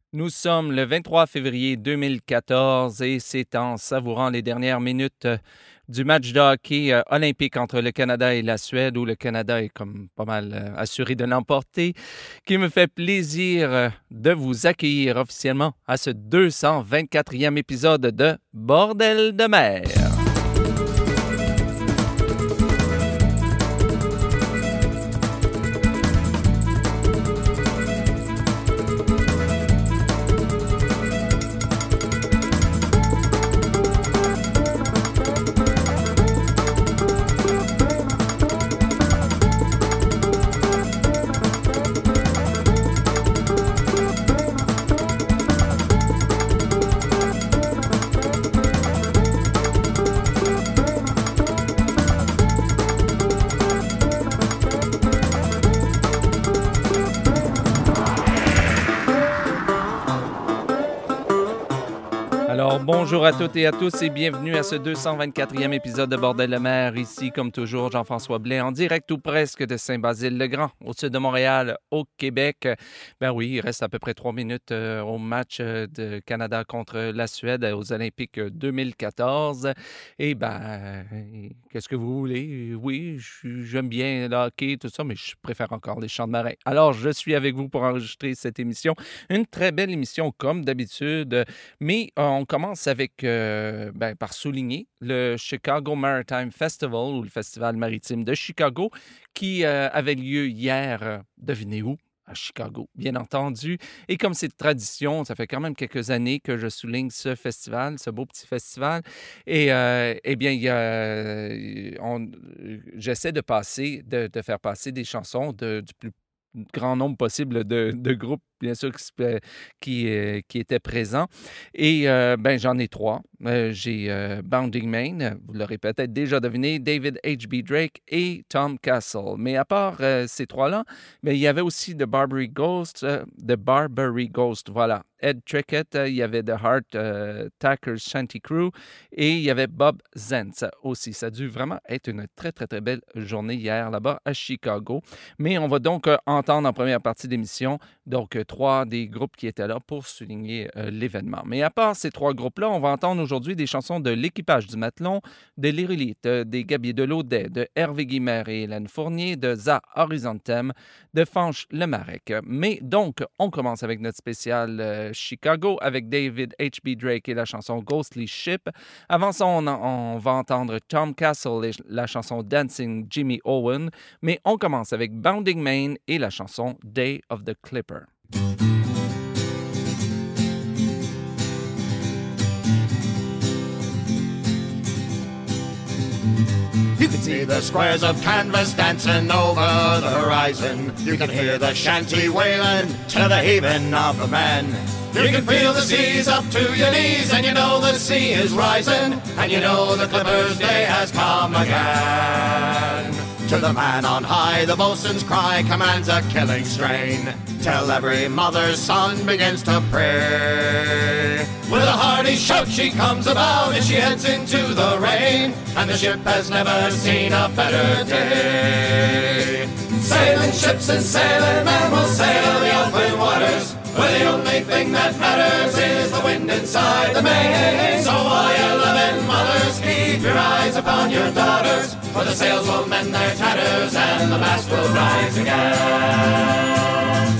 Nous sommes le 23 février 2014 et c'est en savourant les dernières minutes du match de hockey olympique entre le Canada et la Suède, où le Canada est comme pas mal assuré de l'emporter, qu'il me fait plaisir de vous accueillir officiellement à ce 224e épisode de Bordel de mer. Alors, bonjour à toutes et à tous et bienvenue à ce 224e épisode de Bordel de mer. Ici, comme toujours, Jean-François Blais, en direct ou presque de Saint-Basile-le-Grand, au sud de Montréal, au Québec. Ben oui, il reste à peu près 3 minutes au match de Canada contre la Suède aux Olympiques 2014. Et qu'est-ce que vous voulez? Oui, j'aime bien le hockey, tout ça, mais je préfère encore les chants de marin. Alors, je suis avec vous pour enregistrer cette émission. Une très belle émission, comme d'habitude, mais on commence avec, par souligner le Chicago Maritime Festival, ou le Festival maritime de Chicago, qui avait lieu hier, devinez où? À Chicago, bien entendu. Et comme c'est de tradition, ça fait quand même quelques années que je souligne ce festival, ce beau petit festival. Et j'essaie de faire passer des chansons du plus grand nombre possible de groupes, bien sûr, qui étaient présents. Et j'en ai 3. J'ai Bounding Main, vous l'aurez peut-être déjà deviné, David H.B. Drake et Tom Castle. Mais à part ces 3-là, il y avait aussi The Barbary Ghost, voilà. Ed Trickett, il y avait The Heart Tackers Shanty Crew et il y avait Bob Zentz aussi. Ça a dû vraiment être une très, très, très belle journée hier là-bas à Chicago. Mais on va donc entendre en première partie d'émission 3 des groupes qui étaient là pour souligner l'événement. Mais à part ces 3 groupes-là, on va entendre aujourd'hui des chansons de l'Équipage du Matelon, de l'Irélite, des Gabiers de l'Audet, de Hervé Guimard et Hélène Fournier, de Za Horizontem, de Fanche Le Marec. Mais donc, on commence avec notre spécial Chicago avec David H.B. Drake et la chanson Ghostly Ship. Avant ça, on va entendre Tom Castle et la chanson Dancing Jimmy Owen. Mais on commence avec Bounding Main et la chanson Day of the Clipper. You can see the squares of canvas dancing over the horizon. You can hear the shanty wailing to the haven of the men. You can feel the seas up to your knees, and you know the sea is rising, and you know the Clipper's day has come again. To the man on high, the boatswain's cry commands a killing strain, till every mother's son begins to pray. With a hearty shout she comes about as she heads into the rain, and the ship has never seen a better day. Sailing ships and sailing men will sail the open waters, where the only thing that matters is the wind inside the main. So all you loving mothers, keep your eyes upon your daughters, for the sails will mend their tatters and the mast will rise again.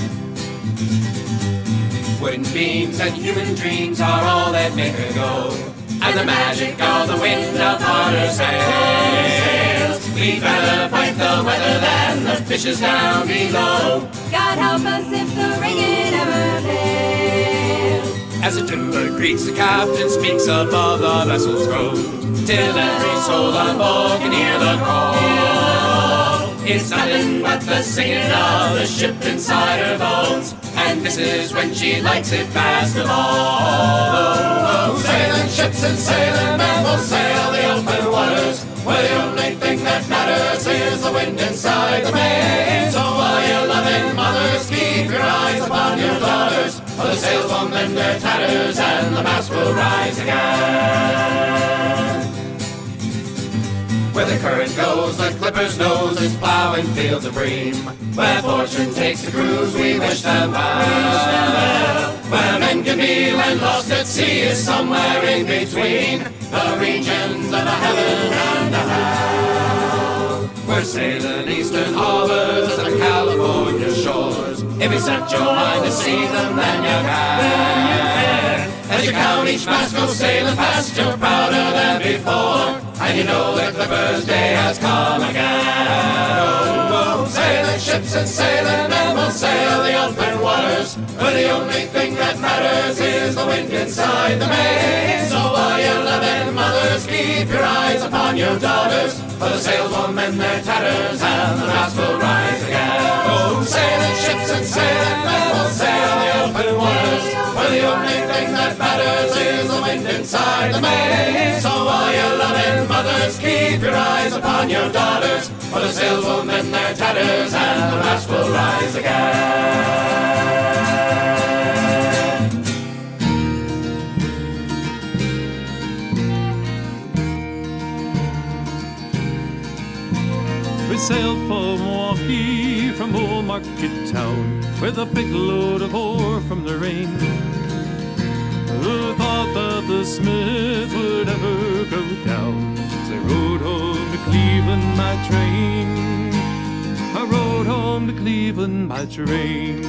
Wooden beams and human dreams are all that make her go, and the magic of the wind upon her sails. We'd rather fight the weather than the fishes down below. God help us if the rigging ever fails. As the timber creaks, the captain speaks above the vessel's road, till every soul on board can hear the call. It's nothing but the singing of the ship inside her bones, and this is when she likes it best of all. Sailing ships and sailing men will sail the open waters, where the only thing that matters is the wind inside the main. So all you loving mothers, keep your eyes upon your daughters, for the sails will mend their tatters and the mast will rise again. Where the current goes, the Clipper's nose is plowing fields of bream. Where fortune takes the cruise, we wish them well. Where be when lost at sea is somewhere in between the regions of the heaven and the hell. We're sailing eastern harbors and the California shores. If you set your mind to see them, then you can. As you count each mast go sailing past, you're prouder than before, and you know that the birthday has come again. Oh, sailing ships and sailing men will sail the open waters, but the only thing that matters is the wind inside the main. So all you loving mothers, keep your eyes upon your daughters, for the sails will mend their tatters and the mast will rise again. Oh, sailing ships and sailing men will sail the open waters, for the only thing that matters is the wind inside the main. So all you loving mothers, keep your eyes upon your daughters, for the sails will mend their tatters and the mast will rise again. We sailed for Milwaukee from Old Market Town with a big load of ore from the rain. Who thought that the Smith would ever go down? As I rode home to Cleveland by train. I rode home to Cleveland by train.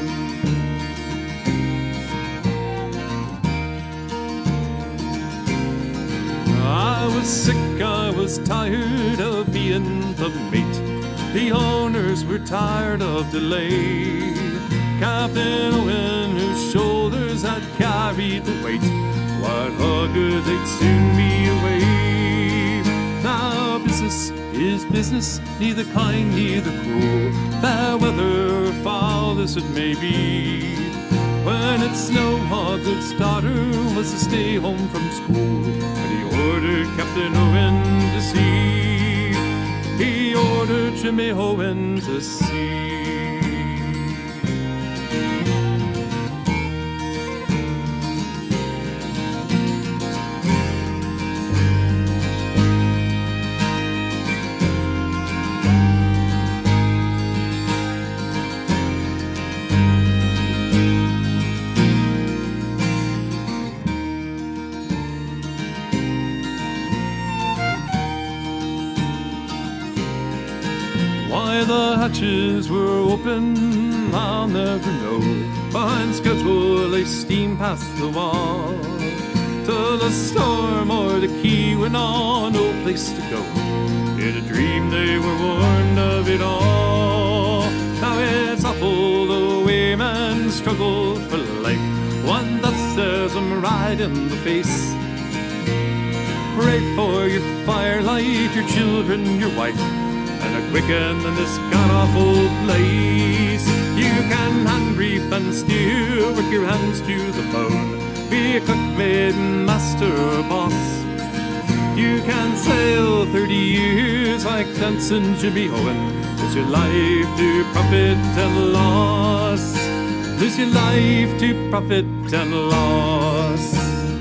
I was sick, I was tired of being the mate. The owners were tired of delay. Captain Owen, whose shoulders had carried the weight, what good they'd soon be away. Now business is business, neither kind, neither cruel, fair weather or foul as it may be. When it snowed, Hoggood's daughter was to stay home from school, but he ordered Captain Owen to sea. He ordered Jimmy Owen to sea. Why the hatches were open, I'll never know. Behind schedule they steam past the wall, till the storm or the key went on, no place to go. In a dream they were warned of it all. Now it's awful the way men struggle for life. One that stares them right in the face. Pray for your firelight, your children, your wife, and a quicken in this god-awful place. You can hand reef and steer, work your hands to the bone, be a cook, maid, master, or boss. You can sail 30 years like dancing Jimmy Owen, lose your life to profit and loss. Lose your life to profit and loss.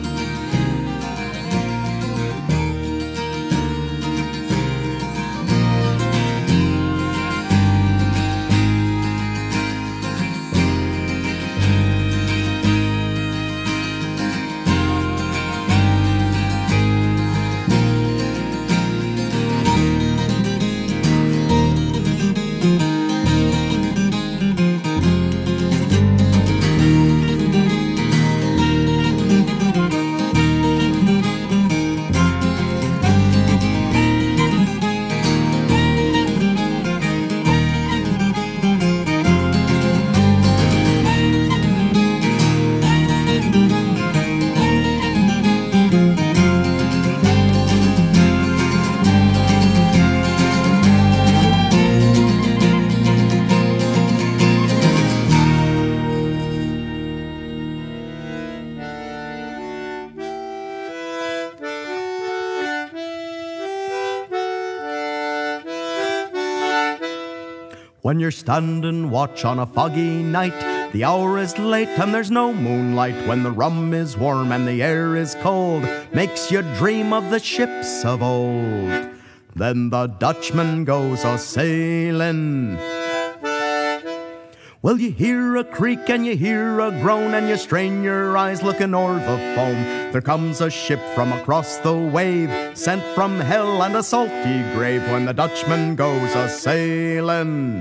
When you're standing watch on a foggy night, the hour is late and there's no moonlight. When the rum is warm and the air is cold, makes you dream of the ships of old. Then the Dutchman goes a-sailing, Well, you hear a creak and you hear a groan, and you strain your eyes looking o'er the foam. There comes a ship from across the wave, sent from hell and a salty grave, when the Dutchman goes a-sailing.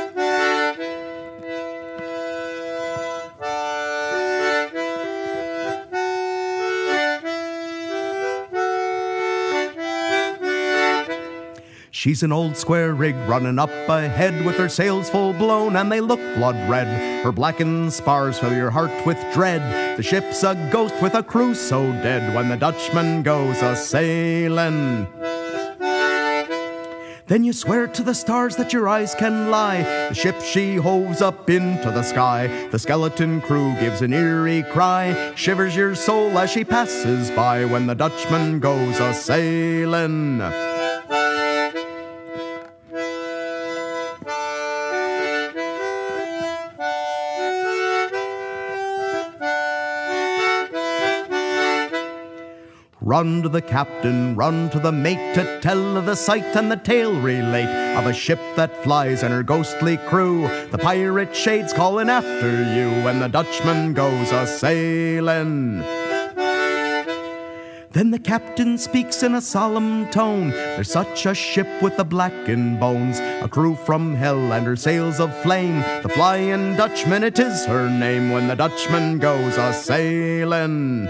She's an old square rig running up ahead, with her sails full blown and they look blood red. Her blackened spars fill your heart with dread. The ship's a ghost with a crew so dead, when the Dutchman goes a-sailing. Then you swear to the stars that your eyes can lie. The ship she hoves up into the sky. The skeleton crew gives an eerie cry, shivers your soul as she passes by, when the Dutchman goes a-sailing. Run to the captain, run to the mate, to tell of the sight and the tale relate of a ship that flies and her ghostly crew. The pirate shades calling after you, when the Dutchman goes a-sailing. Then the captain speaks in a solemn tone. There's such a ship with the blackened bones, a crew from hell and her sails of flame. The Flying Dutchman, it is her name, when the Dutchman goes a-sailing.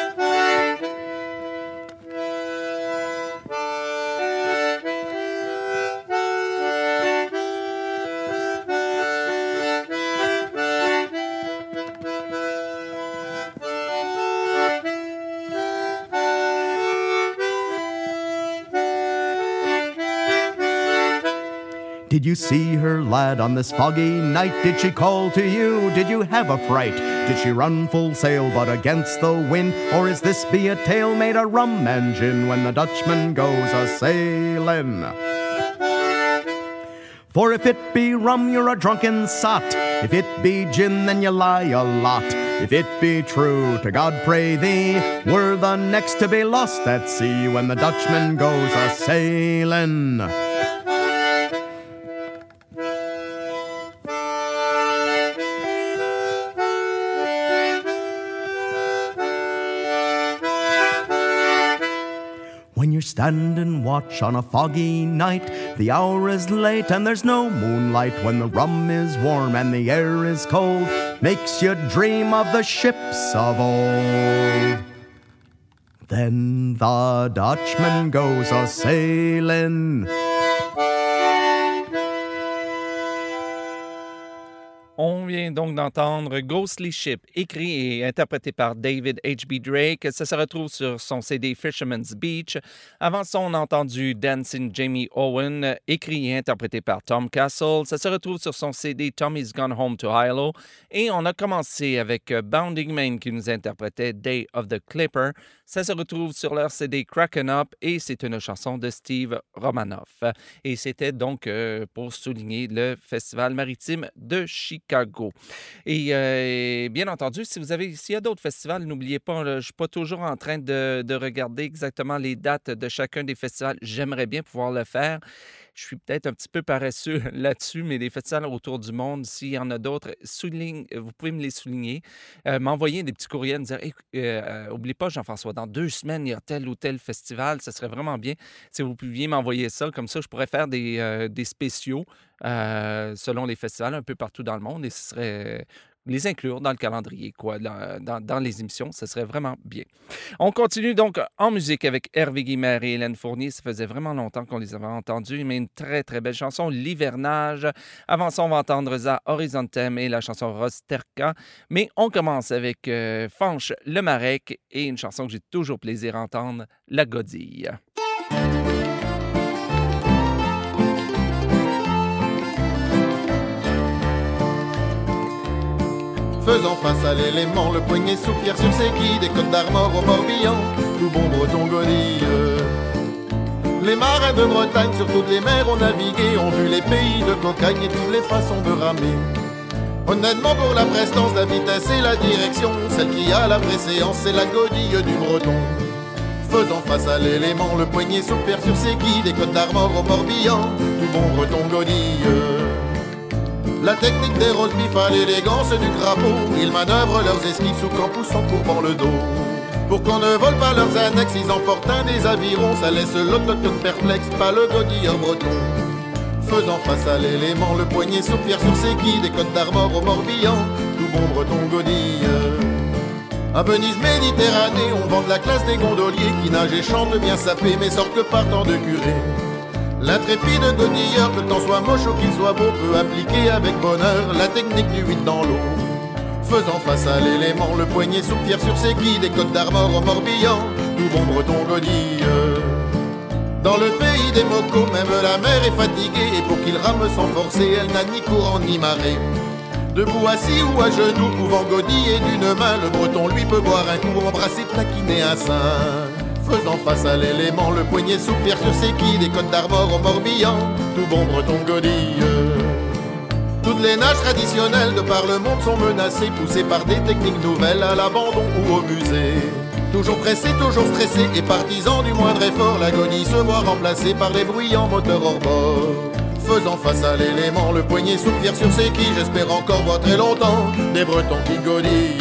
Did you see her, lad, on this foggy night? Did she call to you? Did you have a fright? Did she run full sail but against the wind? Or is this be a tale made of rum and gin, when the Dutchman goes a-sailing? For if it be rum, you're a drunken sot. If it be gin, then you lie a lot. If it be true, to God pray thee, we're the next to be lost at sea, when the Dutchman goes a-sailing. When you're standing watch on a foggy night, the hour is late and there's no moonlight, when the rum is warm and the air is cold, makes you dream of the ships of old. Then the Dutchman goes a-sailing. On vient donc d'entendre Ghostly Ship, écrit et interprété par David H.B. Drake. Ça se retrouve sur son CD Fisherman's Beach. Avant ça, on a entendu Dancing Jamie Owen, écrit et interprété par Tom Castle. Ça se retrouve sur son CD Tommy's Gone Home to Hilo. Et on a commencé avec Bounding Main qui nous interprétait Day of the Clipper. Ça se retrouve sur leur CD Crackin' Up et c'est une chanson de Steve Romanoff. Et c'était donc pour souligner le Festival maritime de Chicago. Et bien entendu, s'il y a d'autres festivals, n'oubliez pas, je ne suis pas toujours en train de regarder exactement les dates de chacun des festivals. J'aimerais bien pouvoir le faire. Je suis peut-être un petit peu paresseux là-dessus, mais les festivals autour du monde, s'il y en a d'autres, vous pouvez me les souligner. M'envoyer des petits courriels, me dire oublie pas, Jean-François, dans 2 semaines, il y a tel ou tel festival. Ça serait vraiment bien si vous pouviez m'envoyer ça. Comme ça, je pourrais faire des spéciaux selon les festivals un peu partout dans le monde et ce serait les inclure dans le calendrier, dans les émissions, ce serait vraiment bien. On continue donc en musique avec Hervé Guimard et Hélène Fournier. Ça faisait vraiment longtemps qu'on les avait entendus, mais une très, très belle chanson, L'Hivernage. Avant ça, on va entendre Za Horizontem et la chanson Rosterka. Mais on commence avec Fanche Le Marek et une chanson que j'ai toujours plaisir à entendre, La Godille. Faisant face à l'élément, le poignet soupire sur ses quilles, des côtes d'Armor au Morbihan, tout bon breton godille. Les marins de Bretagne sur toutes les mers ont navigué, ont vu les pays de cocagne et toutes les façons de ramer. Honnêtement pour la prestance, la vitesse et la direction, celle qui a la préséance, c'est la godille du breton. Faisant face à l'élément, le poignet soupire sur ses quilles, des côtes d'Armor au Morbihan, tout bon breton godille. La technique des roast beef à l'élégance du crapaud. Ils manœuvrent leurs esquives sous campus en courbant le dos. Pour qu'on ne vole pas leurs annexes, ils emportent un des avirons. Ça laisse l'autochtone perplexe, pas le godilleur breton. Faisant face à l'élément, le poignet soupire sur ses quilles. Des Côtes d'Armor au Morbihan, tout bon breton godille. À Venise, Méditerranée, on vend de la classe des gondoliers qui nagent et chantent bien sapés, mais sortent que partant de curé. L'intrépide godilleur, que le temps soit moche ou qu'il soit beau, peut appliquer avec bonheur la technique du 8 dans l'eau. Faisant face à l'élément, le poignet soupire sur ses quilles. Des Côtes d'Armor au Morbihan, tout bon breton godille. Dans le pays des mocos, même la mer est fatiguée, et pour qu'il rame sans forcer, elle n'a ni courant ni marée. Debout, assis ou à genoux, pouvant godiller d'une main, le breton lui peut boire un coup, embrasser, taquiner un sein. Faisant face à l'élément, le poignet soupire sur ses quilles. Des Côtes d'Armor au Morbihan, tout bon breton godille. Toutes les nages traditionnelles de par le monde sont menacées, poussées par des techniques nouvelles à l'abandon ou au musée. Toujours pressés, toujours stressés et partisans du moindre effort, l'agonie se voit remplacée par les bruyants moteurs hors bord. Faisant face à l'élément, le poignet soupire sur ses quilles. J'espère encore voir très longtemps des Bretons qui godillent.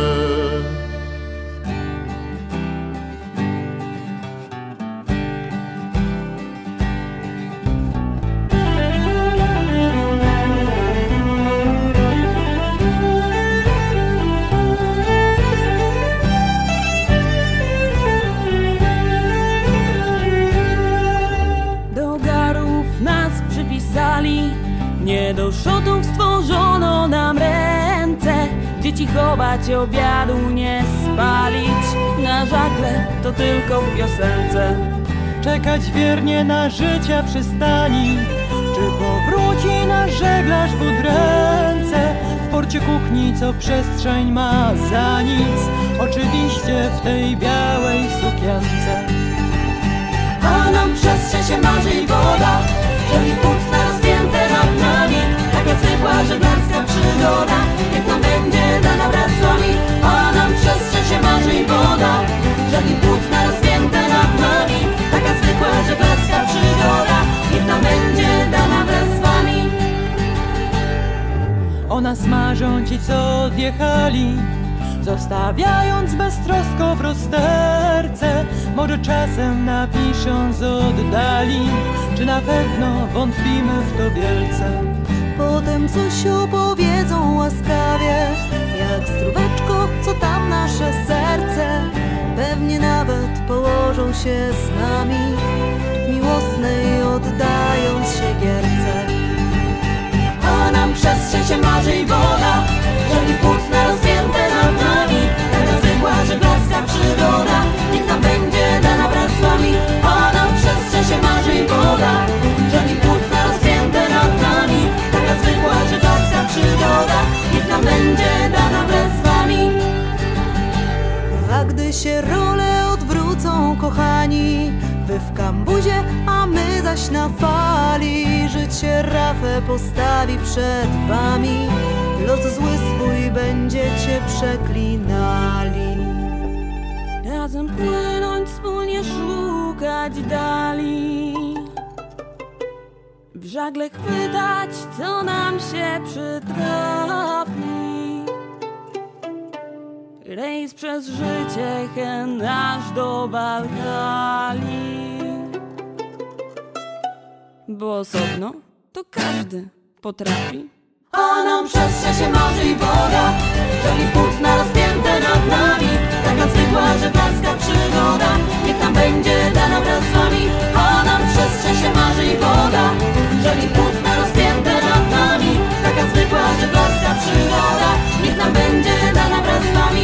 Nie do szotów stworzono nam ręce, dzieci chować, obiadu nie spalić. Na żagle to tylko w piosence. Czekać wiernie na życia przystani, czy powróci nasz żeglarz w udręce. W porcie kuchni, co przestrzeń ma za nic, oczywiście w tej białej sukience. A nam przestrzeń się marzy i woda, żeli płótna rozpięte nad nami. Taka zwykła żeglarska przygoda, niech nam będzie dana wraz z wami. A nam przestrzeń się marzy i woda, żeli płótna rozpięte nad nami. Taka zwykła żeglarska przygoda, niech nam będzie dana wraz z wami. O nas marzą ci, co odjechali, zostawiając beztrosko w rozterce. Może czasem napiszą z oddali, czy na pewno wątpimy w to wielce. Potem coś opowiedzą łaskawie, jak zdróweczko, co tam nasze serce. Pewnie nawet położą się z nami, miłosnej oddając się gierce. A nam przestrzeń się marzy i woda, żeli płótna rozpięte nad nami. Taka zwykła żeglarska przygoda, niech nam będzie dana wraz z wami. A nam przestrzeń się marzy i woda, żeli płótna rozpięte nad nami. Taka zwykła żeglarska przygoda, niech nam będzie dana wraz z wami. A gdy się role odwrócą, kochani, wy w kambuzie, a my zaś na fali, życie rafę postawi przed wami. Los zły swój będziecie przeklinali. Razem płynąć, wspólnie szukać dali, w żagle chwytać, co nam się przytrafi. Rejs przez życie, hen aż do Walhali. Bo osobno to każdy potrafi. A nam przestrzeń się marzy i woda, żeli płótna rozpięte nad nami. Taka zwykła żeglarska przygoda, niech nam będzie dana wraz z wami. A nam przestrzeń się marzy i woda, żeli płótna rozpięte nad nami. Taka zwykła żeglarska przygoda, niech nam będzie dana wraz z wami.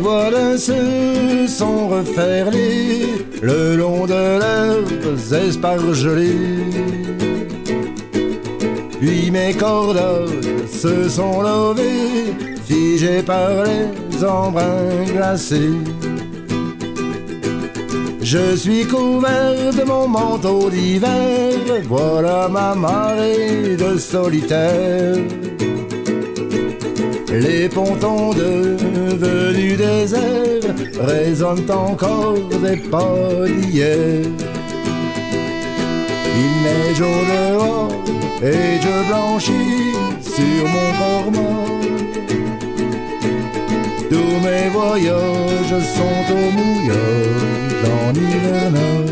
voilà se sont referlés le long de leurs espargelés. Puis mes cordes se sont levées, figées par les embruns glacés. Je suis couvert de mon manteau d'hiver, voilà ma marée de solitaire. Les pontons devenus déserts résonnent encore des pas d'hier. Il neige au dehors et je blanchis sur mon corps mort. Tous mes voyages sont au mouillage en hivernage.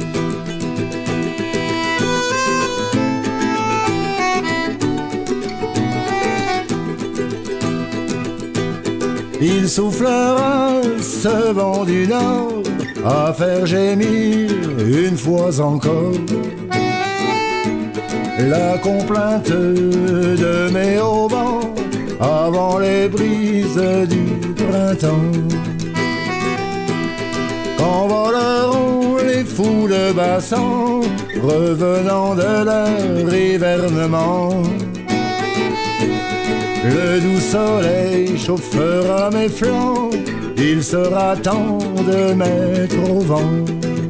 Il soufflera ce vent du nord à faire gémir une fois encore la complainte de mes haubans avant les brises du printemps. Quand voleront les fous de bassan revenant de leur hivernement, le doux soleil chauffera mes flancs, il sera temps de mettre au vent.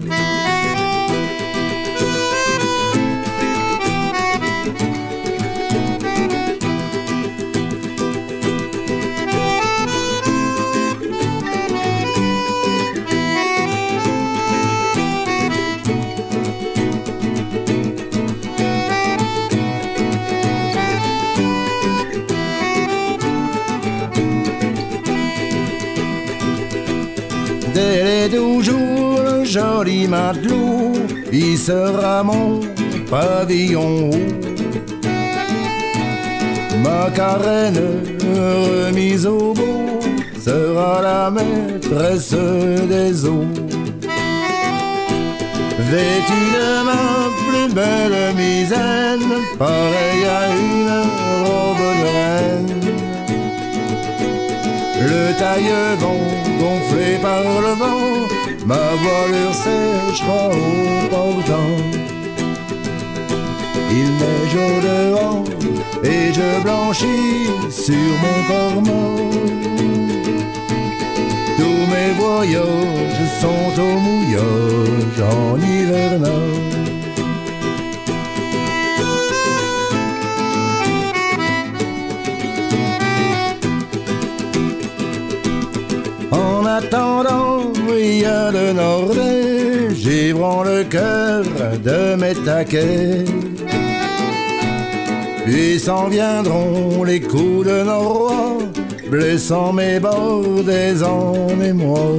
Dès les 12 jours, le joli matelot, il sera mon pavillon haut. Ma carène remise au beau sera la maîtresse des eaux. Vêtue de ma plus belle misaine, pareille à une robe de reine, le taille-vent gonflé par le vent, ma voilure séchera au portant. Il neige au dehors et je blanchis sur mon corps mort. Tous mes voyages sont au mouillage en hivernage. En attendant, il y a le Nordais, givrant le cœur de mes taquets. Puis s'en viendront les coups de Noroît, blessant mes bords des en émoi.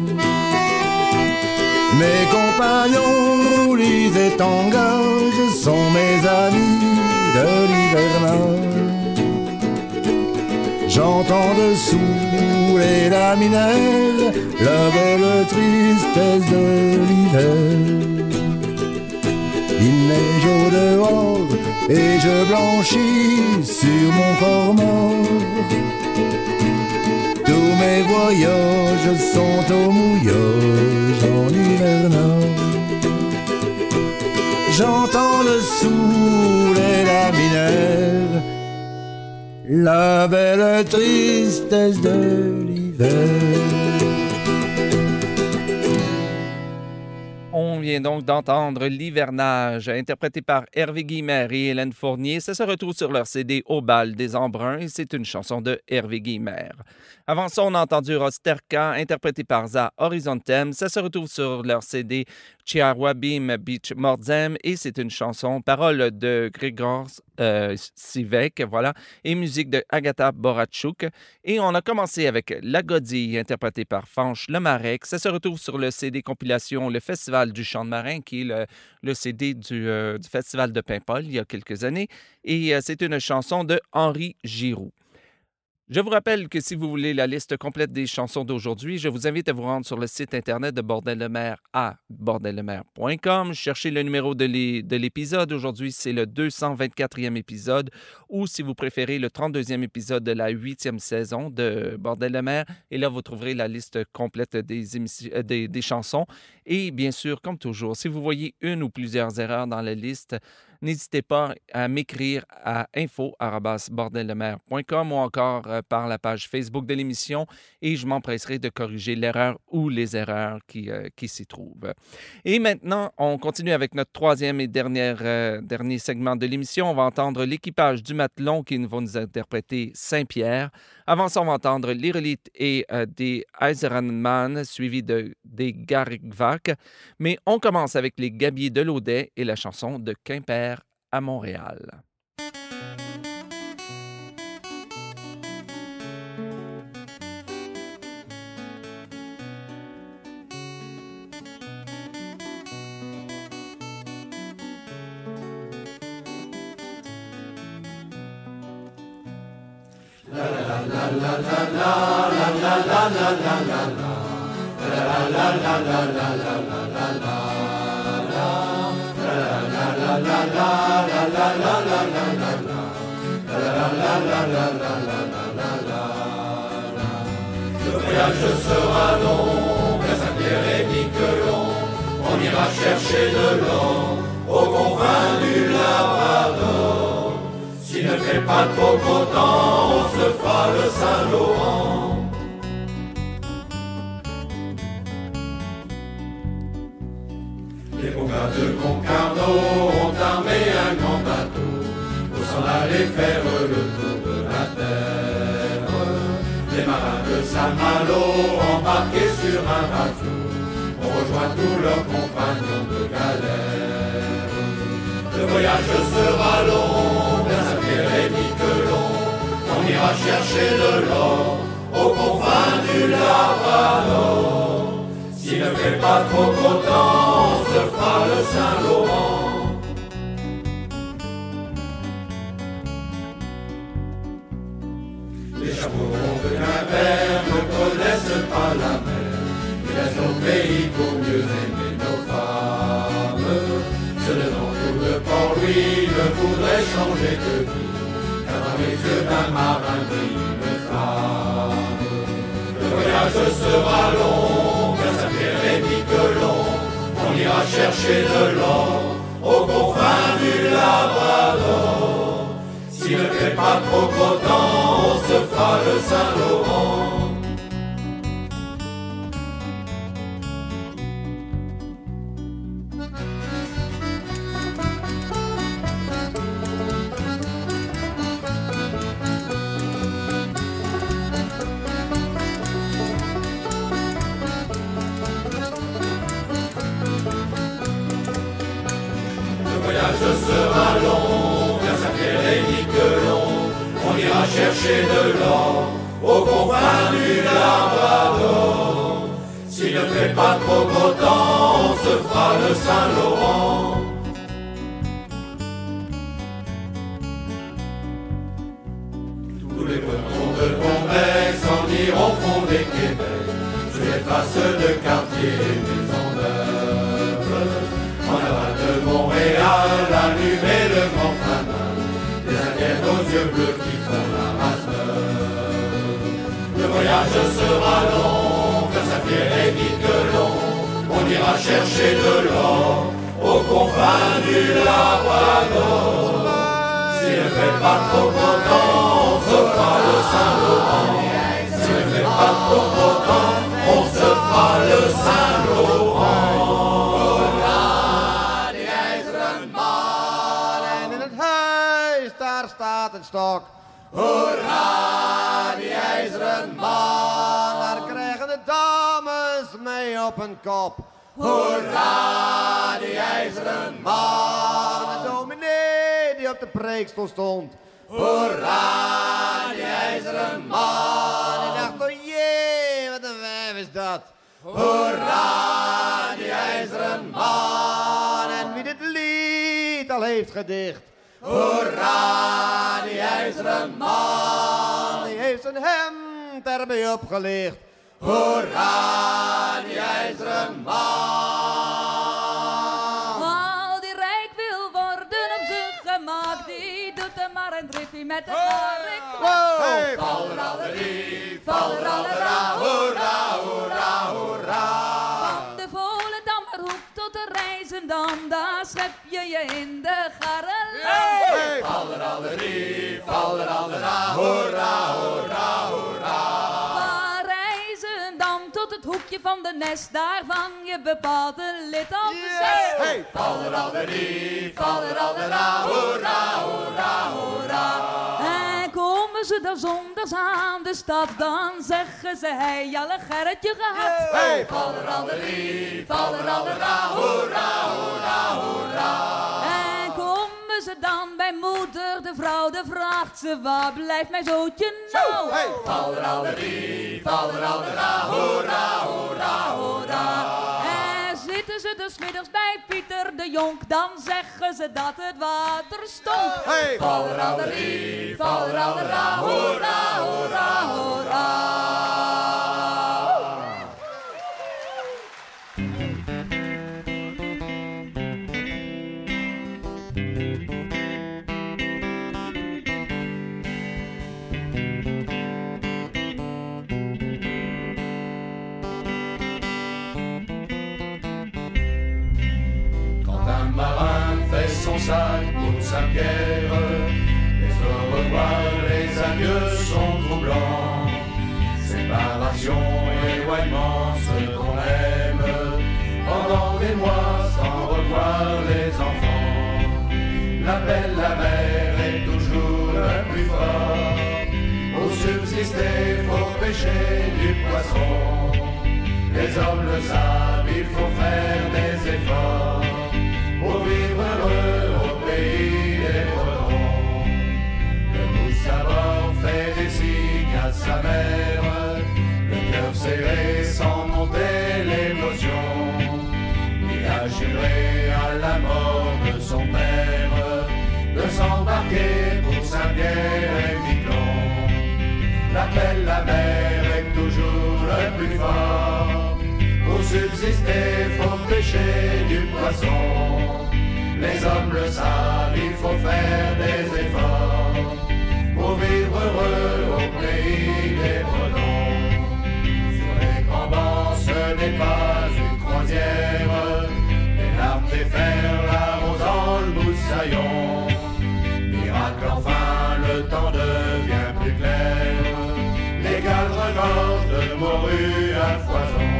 Mes compagnons roulis et tangages sont mes amis de l'hivernage. J'entends dessous les laminaires la belle tristesse de l'hiver. Il neige au dehors et je blanchis sur mon corps mort. Tous mes voyages sont au mouillage en hivernage. J'entends dessous les laminaires la belle tristesse de l'hiver. On vient donc d'entendre l'hivernage, interprété par Hervé Guillemert et Hélène Fournier. Ça se retrouve sur leur CD Au bal des embruns et c'est une chanson de Hervé Guillemert. Avant ça, on a entendu Rosterka, interprété par Za Horizontem. Ça se retrouve sur leur CD Chiarwabim Beach Mordzem et c'est une chanson, parole de Grégor Sivek, voilà, et musique de Agatha Boratchouk. Et on a commencé avec La Godille, interprétée par Fanche Lemarec. Ça se retrouve sur le CD compilation Le Festival du Chant de Marin, qui est le CD du Festival de Paimpol il y a quelques années. Et c'est une chanson de Henri Giroux. Je vous rappelle que si vous voulez la liste complète des chansons d'aujourd'hui, je vous invite à vous rendre sur le site internet de Bordel de mer à bordeldemer.com. Cherchez le numéro de l'épisode. Aujourd'hui, c'est le 224e épisode ou, si vous préférez, le 32e épisode de la 8e saison de Bordel de mer. Et là, vous trouverez la liste complète des chansons. Et bien sûr, comme toujours, si vous voyez une ou plusieurs erreurs dans la liste, n'hésitez pas à m'écrire à info@bordeldemer.com ou encore par la page Facebook de l'émission et je m'empresserai de corriger l'erreur ou les erreurs qui s'y trouvent. Et maintenant, on continue avec notre troisième et dernier segment de l'émission. On va entendre l'équipage du Matelon qui va nous interpréter Saint-Pierre. Avant ça, on va entendre l'Irolite et des Eisenman suivis des Garigvac. Mais on commence avec les Gabiers de l'Audet et la chanson de Quimper à Montréal. Le voyage sera long, vers Saint-Pierre et Miquelon. On ira chercher de l'or aux confins du Labrador. S'il ne fait pas trop beau temps, on se fera le Saint-Laurent. Les bons gars de Concarneau ont armé un grand bateau pour s'en aller faire le tour de la terre. Les marins de Saint-Malo, embarqués sur un bateau, ont rejoint tous leurs compagnons de galère. Le voyage sera long, vers Saint-Pierre et Miquelon. On ira chercher de l'or aux confins du Labrador. S'il ne fait pas trop beau temps, on se fera le Saint-Laurent. Les chapeaux de Quimper ne connaissent pas la mer. Ils laissent nos pays pour mieux aimer nos femmes. Ce nom de Port-Louis ne voudrait changer de vie, car dans les yeux d'un marin brille une flamme. Le voyage sera long, vers Saint-Pierre et Miquelon. On ira chercher de l'or aux confins du Labrador. S'il ne fait pas trop beau temps, on se fera le Saint-Laurent. Le voyage sera long, vers Saint-Pierre et Miquelon. On ira chercher de l'or aux confins du Labrador. S'il ne fait pas trop beau temps, on se fera le Saint-Laurent. Tous les bretons de Bombec s'en iront fonder Québec, sur les traces de quartiers et maisons neuves. En aval de Montréal, allumer le grand fanin, des Indiens aux yeux bleus qui font la race neuve. Le voyage sera long, vers Saint-Pierre et Miquelon. On ira chercher de l'or aux confins du Labrador. S'il ne fait pas trop beau temps, on se fera le Saint-Laurent. S'il ne fait pas trop beau temps, on se fera le Saint-Laurent. Daar staat een stok. Hoera, die ijzeren man, daar krijgen de dames mee op hun kop. Hoera, die ijzeren man, de dominee die op de preekstoel stond. Hoera, die ijzeren man, die dacht, oh jee, wat een wijf is dat. Hoera, die ijzeren man, en wie dit lied al heeft gedicht. Hoera, die ijzeren man, die heeft zijn hemd erbij opgelicht. Hoera, die ijzeren man. Al die rijk wil worden op zijn gemak, die doet er maar een driftie met de karrik. Hey, fallerallerie, fallerallera, hoera, hoera, hoera. Van de Volendammerhoek tot de Rijzendam, daar schep je in de garrelei. Hey, fallerallerie, fallerallera, hoera, hoera, hoera. Van Rijzendam tot het hoekje van de Nes, daar vang je bepaald een lid op de zes. Hey, fallerallerie, fallerallera, hoera, hoera, hoera. En komen ze daar zondags aan de stad, dan zeggen ze, hey, alle Gerritje gehad. Hey, fallerallerie, fallerallera, hoera, hoera, hoera. En komen ze dan bij moeder de vrouw, dan vraagt ze, waar blijft mijn zootje nou? Hey, fallerallerie, fallerallera, hoera, hoera, hoera. En zitten ze dus middags bij Pieter de Jonk, dan zeggen ze dat het water stonk. Hey, fallerallerie, fallerallera, hoera, hoera, hoera. Un marin fait son sac pour Saint-Pierre. Les au revoir, les adieux sont troublants. Séparation, éloignement, ce qu'on aime. Pendant des mois, sans revoir les enfants. L'appel, la mer est toujours le plus fort. Pour subsister, faut pêcher du poisson. Les hommes le savent, il faut faire des efforts. Pour vivre heureux au pays des Bretons. Le mousse à bord fait des signes à sa mère, le cœur serré sans monter l'émotion. Il a juré à la mort de son père de s'embarquer pour Saint-Pierre et Miquelon. L'appel, la mer est toujours le plus fort. Pour subsister, faut pêcher du poisson. Les hommes le savent, il faut faire des efforts pour vivre heureux au pays des Bretons. Sur les grands bancs, ce n'est pas une croisière. Les larmes des fers l'arrosant le moussaillon. Miracle enfin, le temps devient plus clair. Les cales regorgent de morue à foison.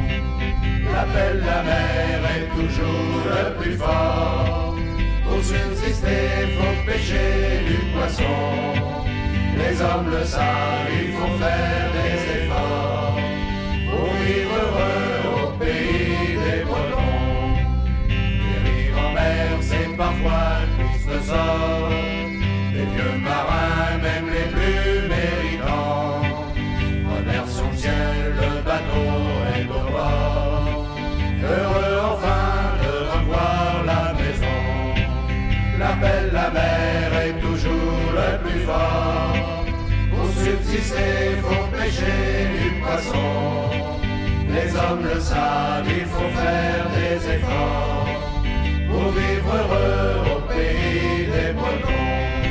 L'appel, la mer est toujours le plus fort. Pour subsister, faut pêcher du poisson. Les hommes le savent, il faut faire des efforts pour vivre heureux au pays des Bretons. Périr en mer, c'est parfois triste sort. Les vieux marins, même les plus méritants, remercions le ciel, le bateau est au bord. Heureux enfin de revoir la maison. L'appel, la mer est toujours le plus fort. Pour subsister, faut pêcher du poisson. Les hommes le savent, il faut faire des efforts pour vivre heureux au pays des Bretons.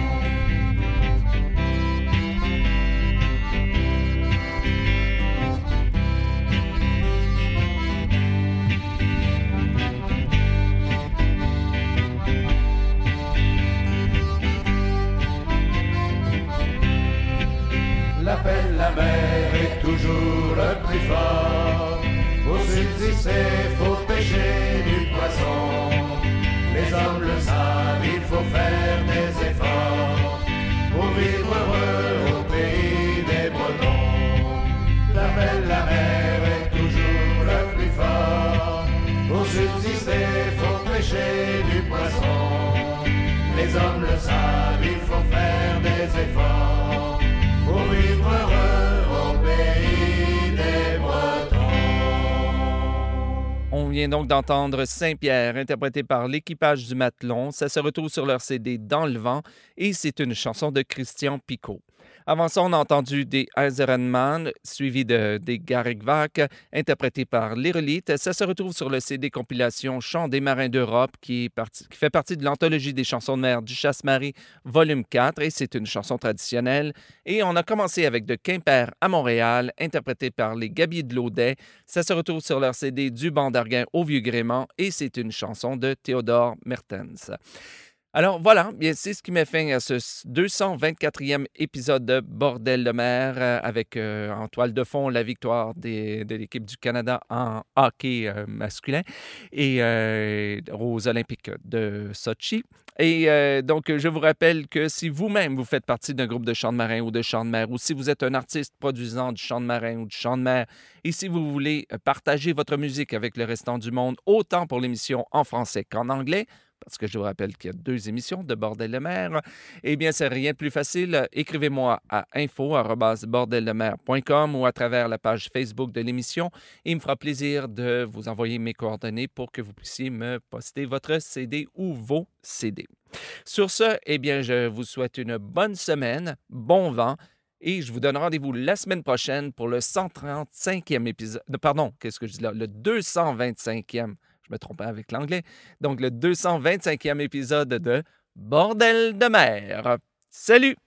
L'appel, la mer est toujours le plus fort. Pour subsister, faut pêcher du poisson. Les hommes le savent, il faut faire des efforts pour vivre heureux au pays des Bretons. L'appel, la mer est toujours le plus fort. Pour subsister, faut pêcher du poisson. Les hommes le savent, il faut faire des efforts pour vivre heureux au pays des Bretons. On vient donc d'entendre Saint-Pierre, interprété par l'Équipage du Matelon. Ça se retrouve sur leur CD Dans le vent et c'est une chanson de Christian Picot. Avant ça, on a entendu des Eisenman, suivi des Garrigvac, interprétés par l'Irolite. Ça se retrouve sur le CD compilation Chants des marins d'Europe, qui fait partie de l'anthologie des chansons de mer du Chasse-Marie, volume 4, et c'est une chanson traditionnelle. Et on a commencé avec de Quimper à Montréal, interprété par les Gabiers de Laudet. Ça se retrouve sur leur CD du Banc d'Arguin au Vieux-Grément, et c'est une chanson de Théodore Mertens. Alors voilà, bien, c'est ce qui met fin à ce 224e épisode de Bordel de mer avec en toile de fond la victoire de l'équipe du Canada en hockey masculin et aux Olympiques de Sochi. Et donc, je vous rappelle que si vous-même vous faites partie d'un groupe de chant de marin ou de chant de mer, ou si vous êtes un artiste produisant du chant de marin ou du chant de mer, et si vous voulez partager votre musique avec le restant du monde, autant pour l'émission en français qu'en anglais, parce que je vous rappelle qu'il y a 2 émissions de Bordel de mer, eh bien, c'est rien de plus facile. Écrivez-moi à info@bordeldemer.com ou à travers la page Facebook de l'émission. Il me fera plaisir de vous envoyer mes coordonnées pour que vous puissiez me poster votre CD ou vos CD. Sur ce, eh bien, je vous souhaite une bonne semaine, bon vent, et je vous donne rendez-vous la semaine prochaine pour le 135e épisode. Pardon, qu'est-ce que je dis là? Le 225e. Je me trompais avec l'anglais. Donc, le 225e épisode de Bordel de mer. Salut!